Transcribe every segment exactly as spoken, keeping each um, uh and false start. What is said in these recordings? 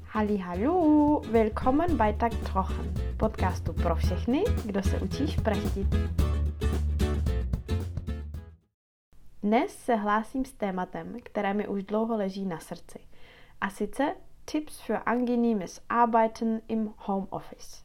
Halli, willkommen bei Tak Trochen, podcastu pro všechny, kdo se učí šprechtit. Dnes se hlásím s tématem, které mi už dlouho leží na srdci, a sice Tipps für angenehmes Arbeiten im Homeoffice.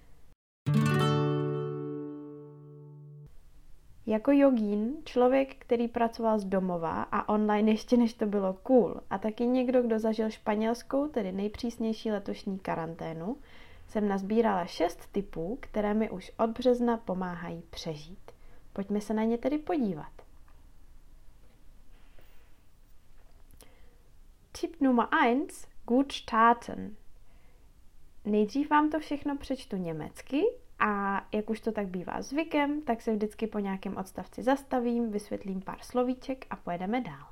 Jako jogín, člověk, který pracoval z domova a online ještě než to bylo cool, a taky někdo, kdo zažil španělskou, tedy nejpřísnější letošní karanténu, jsem nazbírala šest tipů, které mi už od března pomáhají přežít. Pojďme se na ně tedy podívat. Tip Nummer eins, gut starten. Nejdřív vám to všechno přečtu německy a jak už to tak bývá zvykem, tak se vždycky po nějakém odstavci zastavím, vysvětlím pár slovíček a pojedeme dál.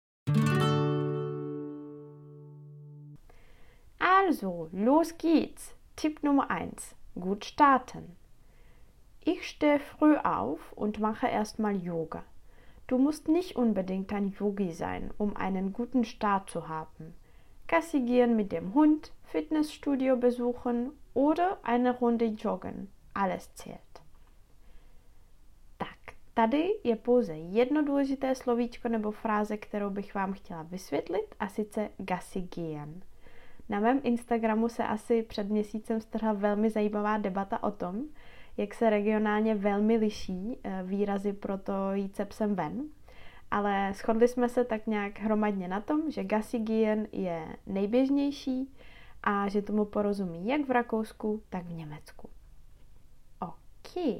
Also, los geht's. Tipp Nummer eins. Gut starten. Ich stehe früh auf und mache erstmal Yoga. Du musst nicht unbedingt ein Yogi sein, um einen guten Start zu haben. Gassi gehen mit dem Hund, Fitnessstudio besuchen oder eine Runde joggen. Alles zählt. Tak, tady je pouze jedno důležité slovíčko nebo fráze, kterou bych vám chtěla vysvětlit, a sice Gassi gehen. Na mém Instagramu se asi před měsícem strhla velmi zajímavá debata o tom, jak se regionálně velmi liší výrazy pro to jít se psem ven. Ale shodli jsme se tak nějak hromadně na tom, že Gassi gehen je nejběžnější a že tomu porozumí jak v Rakousku, tak v Německu. OK.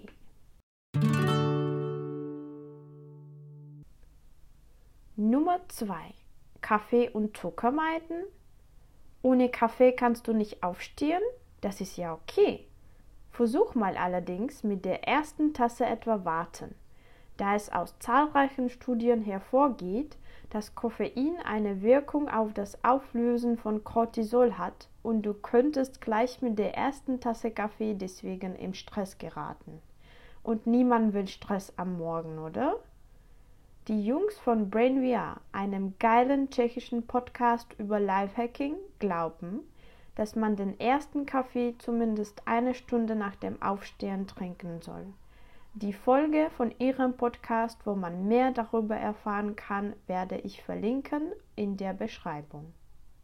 Nummer zwei. Kaffee und Zucker meiden? Ohne Kaffee kannst du nicht aufstehen? Das ist ja okay. Versuch mal allerdings mit der ersten Tasse etwa warten. Da es aus zahlreichen Studien hervorgeht, dass Koffein eine Wirkung auf das Auflösen von Cortisol hat und du könntest gleich mit der ersten Tasse Kaffee deswegen im Stress geraten. Und niemand will Stress am Morgen, oder? Die Jungs von Brain V R, einem geilen tschechischen Podcast über Lifehacking, glauben, dass man den ersten Kaffee zumindest eine Stunde nach dem Aufstehen trinken soll. Die Folge von ihrem Podcast, wo man mehr darüber erfahren kann, werde ich verlinken in der Beschreibung.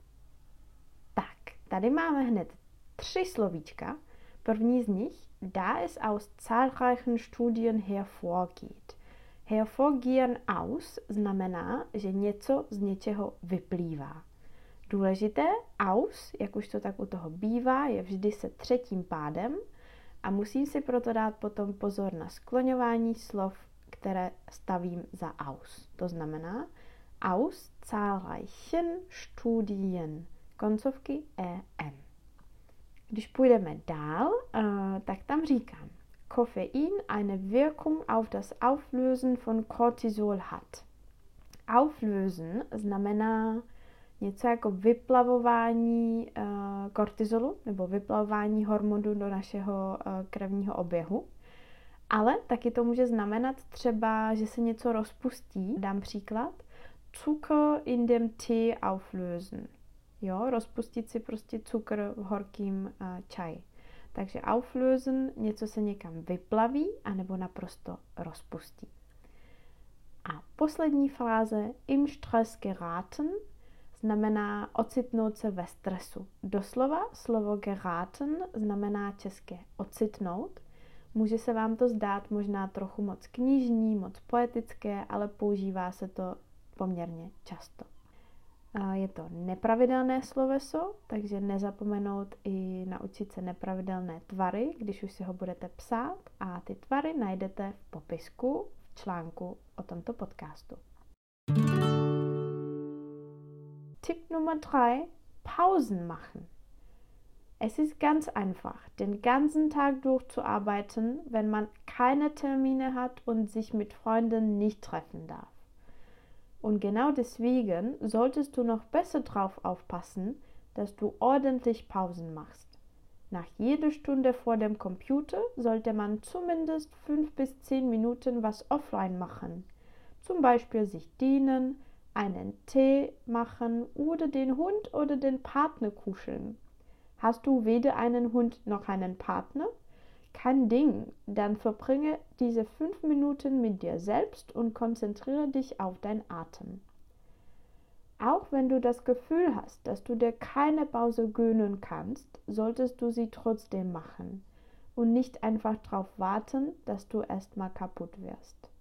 Tak, tady máme hned tři slovíčka. První z nich, da es aus zahlreichen Studien hervorgeht. Hervorgehen aus znamená, že něco z něčeho vyplývá. Důležité, aus, jak už to tak u toho bývá, je vždy se třetím pádem a musím si proto dát potom pozor na skloňování slov, které stavím za aus. To znamená aus zahlreichen Studien, koncovky en. Když půjdeme dál, tak tam říkám, Koffein eine Wirkung auf das Auflösen von Cortisol hat. Auflösen znamená něco jako vyplavování uh, kortizolu nebo vyplavování hormonu do našeho uh, krevního oběhu. Ale taky to může znamenat třeba, že se něco rozpustí. Dám příklad. Zucker in dem Tee auflösen. Jo, rozpustit si prostě cukr v horkým uh, čaji. Takže auflösen, něco se někam vyplaví anebo naprosto rozpustí. A poslední fráze, im Stress geraten, znamená ocitnout se ve stresu. Doslova slovo geraten znamená české ocitnout. Může se vám to zdát možná trochu moc knižní, moc poetické, ale používá se to poměrně často. Je to nepravidelné sloveso, takže nezapomenout i naučit se nepravidelné tvary, když už si ho budete psát, a ty tvary najdete v popisku v článku o tomto podcastu. Tipp Nummer drei, Pausen machen. Es ist ganz einfach, den ganzen Tag durchzuarbeiten, wenn man keine Termine hat und sich mit Freunden nicht treffen darf. Und genau deswegen solltest du noch besser drauf aufpassen, dass du ordentlich Pausen machst. Nach jeder Stunde vor dem Computer sollte man zumindest fünf bis zehn Minuten was offline machen. Zum Beispiel sich dehnen, einen Tee machen oder den Hund oder den Partner kuscheln. Hast du weder einen Hund noch einen Partner? Kein Ding, dann verbringe diese fünf Minuten mit dir selbst und konzentriere dich auf deinen Atem. Auch wenn du das Gefühl hast, dass du dir keine Pause gönnen kannst, solltest du sie trotzdem machen und nicht einfach darauf warten, dass du erstmal kaputt wirst.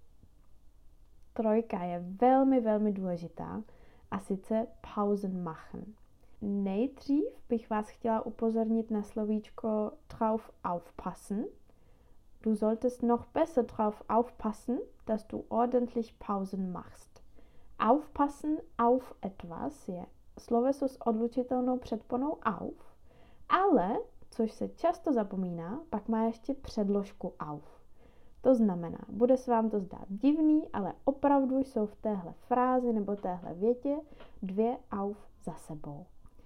Trojka je velmi, velmi důležitá, a sice pauzen machen. Nejdřív bych vás chtěla upozornit na slovíčko drauf aufpassen. Du solltest noch besser drauf aufpassen, dass du ordentlich Pausen machst. Aufpassen auf etwas je sloveso s odlučitelnou předponou auf, ale, což se často zapomíná, pak má ještě předložku auf. To znamená, bude se vám to zdát divný, ale opravdu jsou v téhle frázi nebo téhle větě dvě auf za sebou.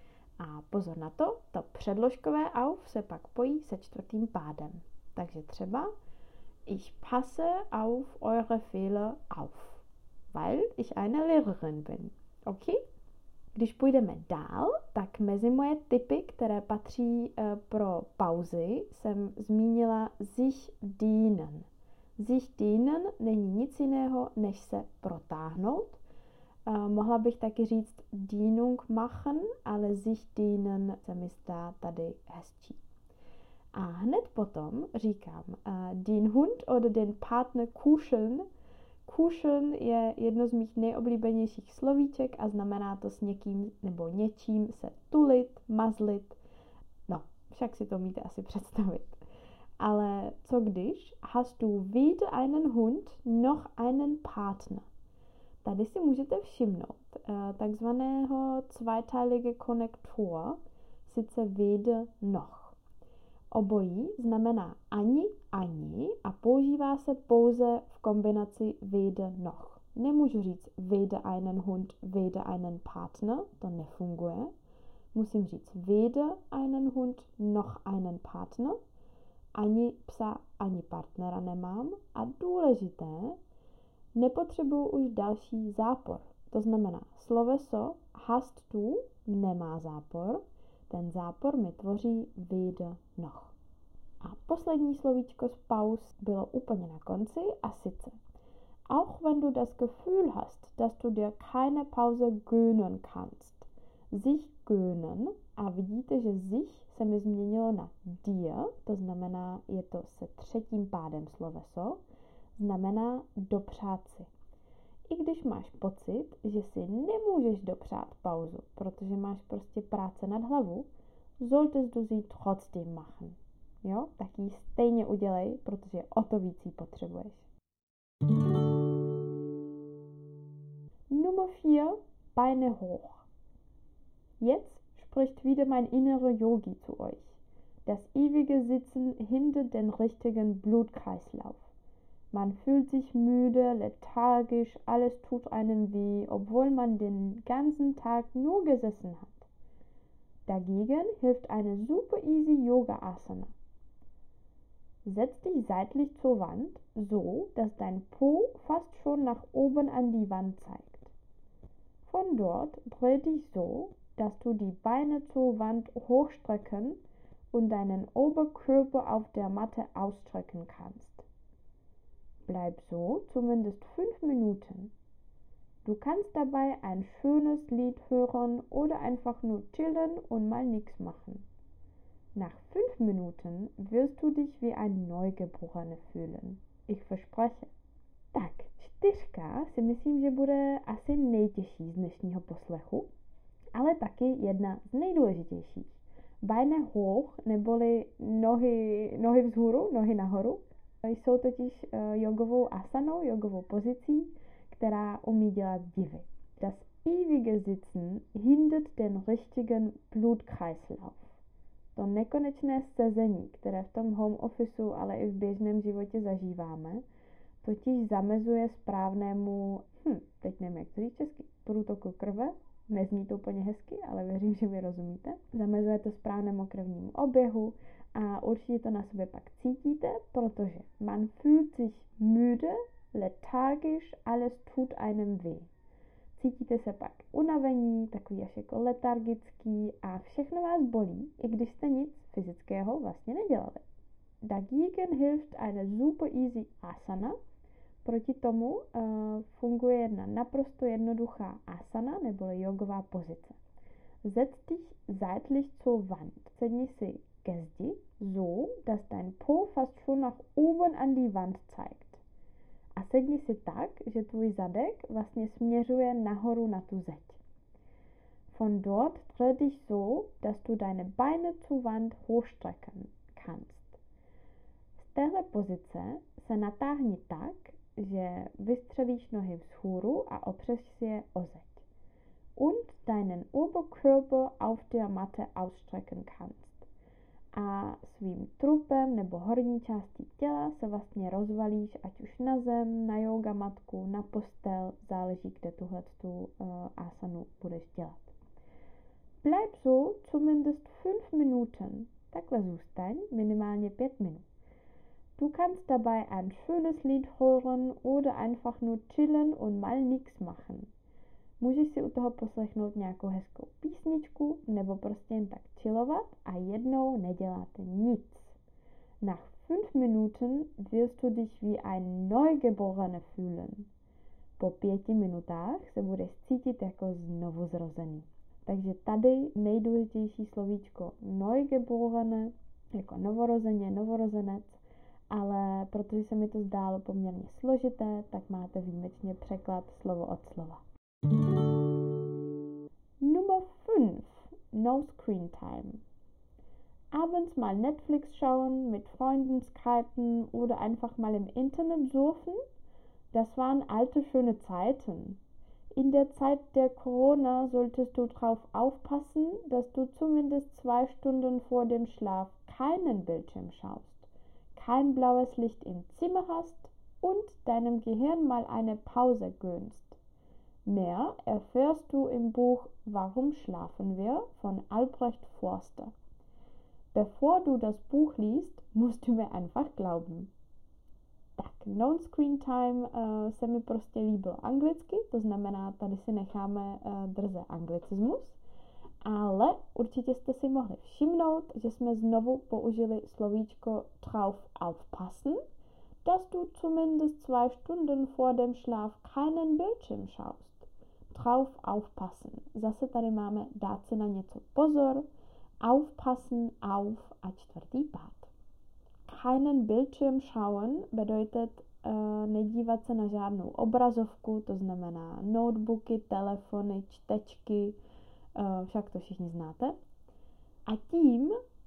A pozor na to, to předložkové auf se pak pojí se čtvrtým pádem. Takže třeba Ich passe auf eure Fehler auf, weil ich eine Lehrerin bin. OK? Když půjdeme dál, tak mezi moje tipy, které patří uh, pro pauzy, jsem zmínila sich dienen. Sich dienen není nic jiného, než se protáhnout. Uh, mohla bych taky říct Dienung machen, ale sich dienen se mi zdá tady hezčí. A hned potom říkám uh, den Hund oder den Partner kuscheln. Kuscheln je jedno z mých nejoblíbenějších slovíček a znamená to s někým nebo něčím se tulit, mazlit. No, však si to umíte asi představit. Ale co když hast du weder einen Hund noch einen Partner? Tady si můžete všimnout uh, takzvaného zweiteilige Konnektor, sice weder noch. Obojí znamená ani, ani a používá se pouze v kombinaci weder noch. Nemůžu říct weder einen Hund, weder einen Partner, to nefunguje. Musím říct weder einen Hund noch einen Partner. Ani psa, ani partnera nemám. A důležité, nepotřebuji už další zápor. To znamená, sloveso hast du nemá zápor. Ten zápor mi tvoří weder noch. A poslední slovíčko z pauz bylo úplně na konci a sice auch wenn du das Gefühl hast, dass du dir keine Pause gönnen kannst. Sich gönnen, a vidíte, že sich se mi změnilo na dir, to znamená, je to se třetím pádem sloveso, znamená dopřát si. I když máš pocit, že si nemůžeš dopřát pauzu, protože máš prostě práce nad hlavu, solltest du sie trotzdem machen. Jo, tak ji stejně udělej, protože o to víc ji potřebuješ. Nummer vier, Beine hoch. Jetzt spricht wieder mein innerer Yogi zu euch. Das ewige Sitzen hindert den richtigen Blutkreislauf. Man fühlt sich müde, lethargisch, alles tut einem weh, obwohl man den ganzen Tag nur gesessen hat. Dagegen hilft eine super easy Yoga-Asana. Setz dich seitlich zur Wand, so dass dein Po fast schon nach oben an die Wand zeigt. Von dort dreh dich so, dass du die Beine zur Wand hochstrecken und deinen Oberkörper auf der Matte ausstrecken kannst. Bleib so zumindest fünf Minuten. Du kannst dabei ein schönes Lied hören oder einfach nur chillen und mal nichts machen. Nach fünf Minuten wirst du dich wie ein Neugeborene fühlen. Ich verspreche. Tak, čtyřka si myslím, že bude asi nejtěžší z dnešního poslechu, ale taky jedna z nejdůležitějších. Beine hoch, neboli nohy, nohy vzhůru, nohy nahoru, jsou totiž uh, jogovou asanou, jogovou pozicí, která umí dělat divy. Das ewige Sitzen hindert den richtigen Blutkreislauf. To nekonečné sezení, které v tom home officeu, ale i v běžném životě zažíváme, totiž zamezuje správnému, hm, teď nevím, jak to říct česky, průtoku krve, nezní to úplně hezky, ale věřím, že mi rozumíte. Zamezuje to správnému krevnímu oběhu a určitě to na sobě pak cítíte, protože man fühlt sich müde, lethargisch, alles tut einem weh. Cítíte se pak unavení, takový až jako letargický a všechno vás bolí, i když jste nic fyzického vlastně nedělali. Dagegen hilft eine super easy asana. Proti tomu uh, funguje jedna naprosto jednoduchá asana neboli jogová pozice. Setz dich seitlich zur Wand. Sedni si ke zdi, so, dass dein Po fast schon nach oben an die Wand zeigt. A sedni si tak, že tvůj zadek vlastně směřuje nahoru na tu zeď. Von dort dreh dich so, dass du deine Beine zur Wand hochstrecken kannst. Z téhle pozice se natáhni tak, že vystřelíš nohy vzhůru a opřeš si je o zeď. Und deinen Oberkörper auf der Matte ausstrecken kannst. A svým trupem nebo horní částí těla se vlastně rozvalíš, ať už na zem, na yoga matku, na postel, záleží, kde tuhletu uh, asanu budeš dělat. Bleib so zumindest fünf Minuten. Takhle zůstaň minimálně pět minut. Du kannst dabei ein schönes Lied hören oder einfach nur chillen und mal nichts machen. Můžeš si u toho poslechnout nějakou hezkou písničku nebo prostě jen tak chillovat a jednou neděláte nic. Nach fünf Minuten wirst du dich wie ein Neugeborene fühlen. Po pěti minutách se budeš cítit jako znovu zrozený. Takže tady nejdůležitější slovíčko Neugeborene, jako novorozeně, novorozenec, ale protože se mi to zdálo poměrně složité, tak máte výjimečně překlad slovo od slova. Nummer fünf. No Screen Time. Abends mal Netflix schauen, mit Freunden skypen oder einfach mal im Internet surfen? Das waren alte schöne Zeiten. In der Zeit der Corona solltest du drauf aufpassen, dass du zumindest zwei Stunden vor dem Schlaf keinen Bildschirm schaust, kein blaues Licht im Zimmer hast und deinem Gehirn mal eine Pause gönnst. Mehr erfährst du im Buch Warum schlafen wir von Albrecht Forster. Bevor du das Buch liest, musst du mir einfach glauben. Tak, non-screen time uh, se mi prostě líbilo anglicky, to znamená, tady si necháme uh, drze anglicismus, ale určitě jste si mohli všimnout, že jsme znovu použili slovíčko drauf aufpassen, dass du zumindest zwei Stunden vor dem Schlaf keinen Bildschirm schaust. Drauf aufpassen. Zase tady máme dát si na něco pozor, aufpassen, auf a čtvrtý pád. Keinen Bildschirm schauen bedeutet uh, nedívat se na žádnou obrazovku, to znamená notebooky, telefony, čtečky, uh, však to všichni znáte. A tím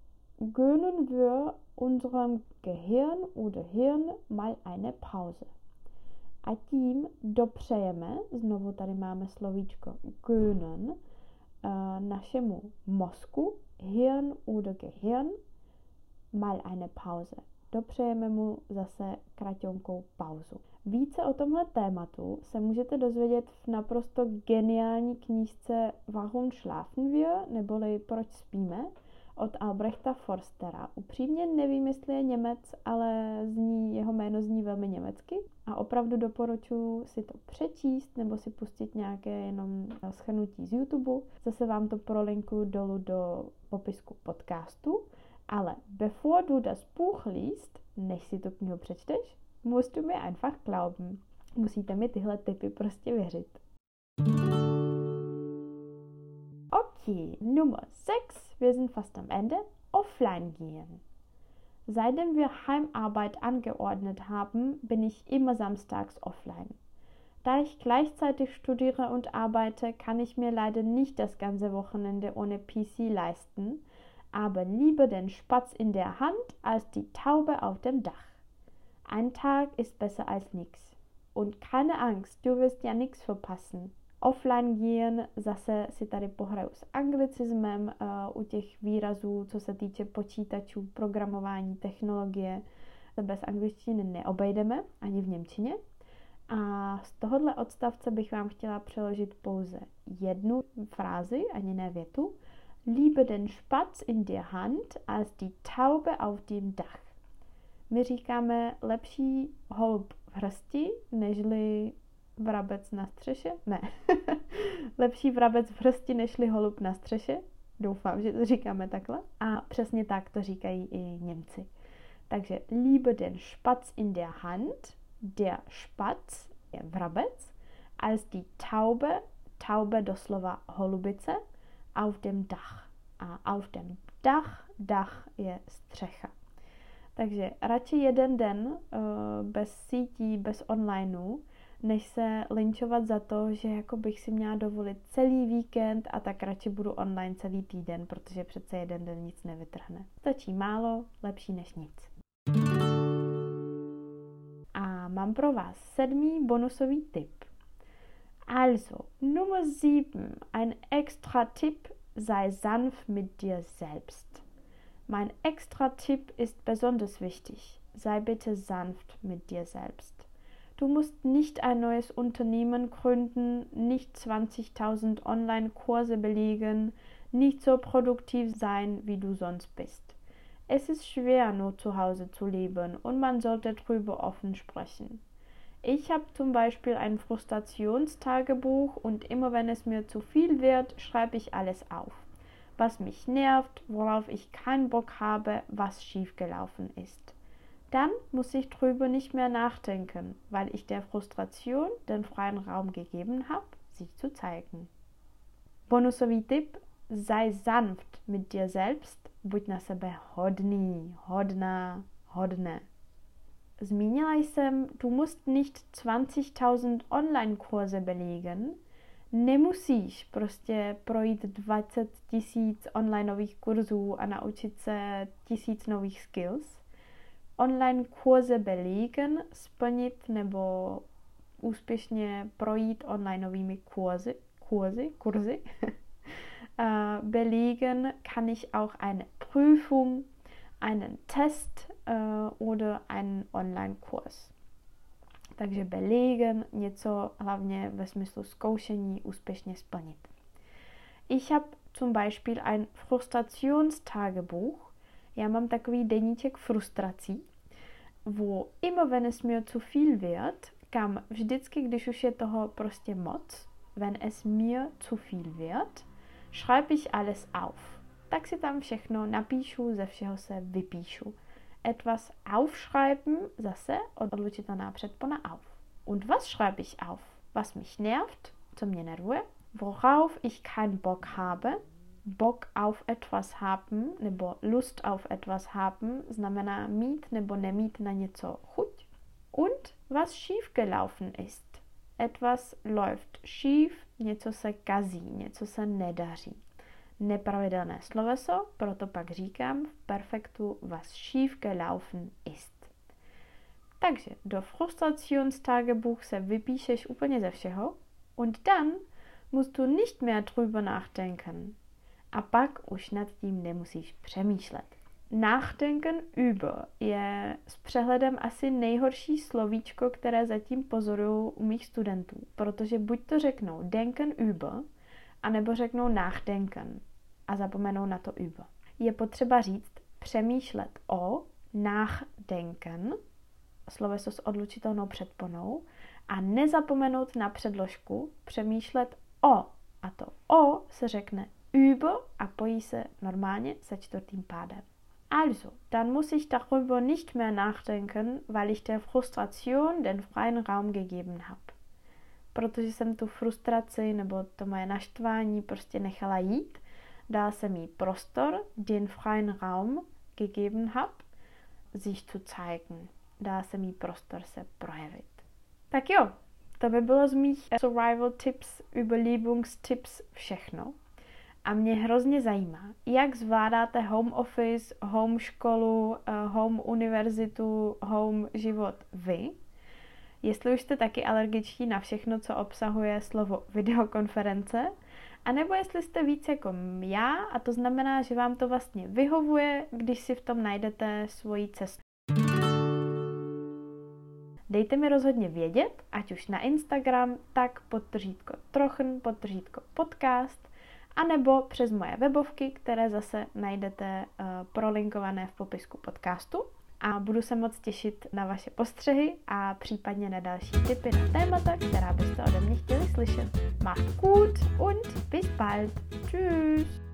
gönnen wir unserem Gehirn oder Hirn mal eine Pause. A tím dopřejeme, znovu tady máme slovíčko gönnen, uh, našemu mozku, Hirn oder Gehirn, mal eine Pause. Dopřejeme mu zase kraťonkou pauzu. Více o tomhle tématu se můžete dozvědět v naprosto geniální knížce Warum schlafen wir, neboli Proč spíme, od Albrechta Forstera. Upřímně nevím, jestli je Němec, ale zní, jeho jméno zní velmi německy a opravdu doporučuji si to přečíst nebo si pustit nějaké jenom shrnutí z YouTube. Zase vám to prolinkuju dolů do popisku podcastu. Ale bevor du das Buch liest, než si tu knihu přečteš, musst du mir einfach glauben. Musíte mi tyhle tipy prostě věřit. Okay, Nummer sechs, wir sind fast am Ende, offline gehen. Seitdem wir Heimarbeit angeordnet haben, bin ich immer samstags offline. Da ich gleichzeitig studiere und arbeite, kann ich mir leider nicht das ganze Wochenende ohne P C leisten, aber lieber den Spatz in der Hand als die Taube auf dem Dach. Ein Tag ist besser als nix. Und keine Angst, du wirst ja nix verpassen. Offline gehen, zase si tady pohraju s anglicismem uh, u těch výrazů, co se týče počítačů, programování, technologie. Bez angličtiny neobejdeme, ani v němčině. A z tohohle odstavce bych vám chtěla přeložit pouze jednu frázi, ani ne větu. Lieber den Spatz in der Hand als die Taube auf dem Dach. My říkáme lepší holub v hrsti, nežli vrabec na střeše? Ne. Lepší vrabec v hrsti nežli holub na střeše. Doufám, že to říkáme takhle. A přesně tak to říkají i Němci. Takže lieber den Spatz in der Hand, der Spatz je vrabec, als die Taube, Taube doslova holubice, auf dem Dach. A auf dem Dach, Dach je střecha. Takže radši jeden den uh, bez sítí, bez onlineu, než se lynčovat za to, že jako bych si měla dovolit celý víkend a tak radši budu online celý týden, protože přece jeden den nic nevytrhne. Stačí málo, lepší než nic. A mám pro vás sedmý bonusový tip. Also, Nummer sieben, ein extra Tipp, sei sanft mit dir selbst. Mein extra Tipp ist besonders wichtig. Sei bitte sanft mit dir selbst. Du musst nicht ein neues Unternehmen gründen, nicht zwanzigtausend Online-Kurse belegen, nicht so produktiv sein, wie du sonst bist. Es ist schwer, nur zu Hause zu leben und man sollte darüber offen sprechen. Ich habe zum Beispiel ein Frustrationstagebuch und immer wenn es mir zu viel wird, schreibe ich alles auf. Was mich nervt, worauf ich keinen Bock habe, was schiefgelaufen ist. Dann muss ich drüber nicht mehr nachdenken, weil ich der Frustration den freien Raum gegeben habe, sich zu zeigen. Bonusový tip, sei sanft mit dir selbst, buď na sebe hodný, hodná, hodné. Zmínila jsem, du musst nicht zwanzigtausend Online-Kurse belegen, nemusíš prostě projít dvacet tisíc onlineových kurzů a naučit se tisíc nových skills. Online kurze belegen, splnit nebo úspěšně projít onlineovými kurzy, kurzy, kurzy. uh, belegen kann ich auch eine Prüfung, einen Test uh, oder einen Online-Kurs. Takže belegen, něco hlavně ve smyslu zkoušení úspěšně splnit. Ich habe zum Beispiel ein Frustrationstagebuch. Já mám takový deníček frustrací, wo immer wenn es mir zu viel wird, kam vždycky, když už je toho prostě moc, wenn es mir zu viel wird, schreibe ich alles auf. Tak si tam všechno napíšu, ze všeho se vypíšu. Etwas aufschreiben, zase odlučitelná předpona auf. Und was schreibe ich auf? Was mich nervt, co mě nervuje, worauf ich keinen Bock habe, Bock auf etwas haben, nebo Lust auf etwas haben, znamená mít nebo nemít na něco chuť. Und was schiefgelaufen ist. Etwas läuft schief, něco se kazí, něco se nedaří. Nepravidelné sloveso, proto pak říkám v perfektu, was schiefgelaufen ist. Takže do Frustrationstagebuch se vypíšeš úplně ze všeho und dann musst du nicht mehr drüber nachdenken. A pak už nad tím nemusíš přemýšlet. Nachdenken über je s přehledem asi nejhorší slovíčko, které zatím pozoruju u mých studentů, protože buď to řeknou denken über, anebo řeknou nachdenken a zapomenou na to über. Je potřeba říct přemýšlet o, nachdenken, sloveso s odlučitelnou předponou, a nezapomenout na předložku přemýšlet o. A to o se řekne über a pojí se normálně se čtvrtým pádem. Also, dann muss ich darüber nicht mehr nachdenken, weil ich der Frustration den freien Raum gegeben habe. Protože jsem tu frustraci nebo to moje naštvání prostě nechala jít, dala jsem jí prostor, den freien Raum gegeben habe, sich zu zeigen. Dala jsem jí prostor se projevit. Tak jo, to by bylo z mých survival tips, überlebungstipps všechno. A mě hrozně zajímá, jak zvládáte home office, home školu, home univerzitu, home život vy. Jestli už jste taky alergičtí na všechno, co obsahuje slovo videokonference, anebo jestli jste víc jako já, a to znamená, že vám to vlastně vyhovuje, když si v tom najdete svoji cestu. Dejte mi rozhodně vědět, ať už na Instagram, tak podtržítko trochen, podtržítko podcast, anebo přes moje webovky, které zase najdete uh, prolinkované v popisku podcastu. a budu se moc těšit na vaše postřehy a případně na další tipy na témata, která byste ode mě chtěli slyšet. Macht's gut und bis bald. Tschüss.